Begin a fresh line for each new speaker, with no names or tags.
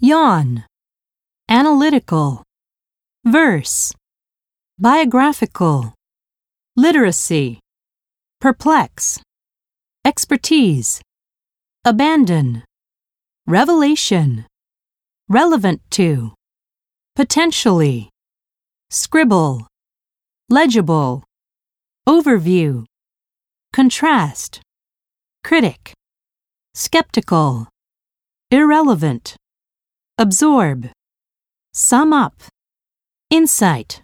yawn, analytical, verse, biographical, literacy, perplex, expertise, abandon, revelation, relevant to, potentially, scribble, legible, overview, contrast, critic, skeptical, irrelevant, absorb, sum up, insight.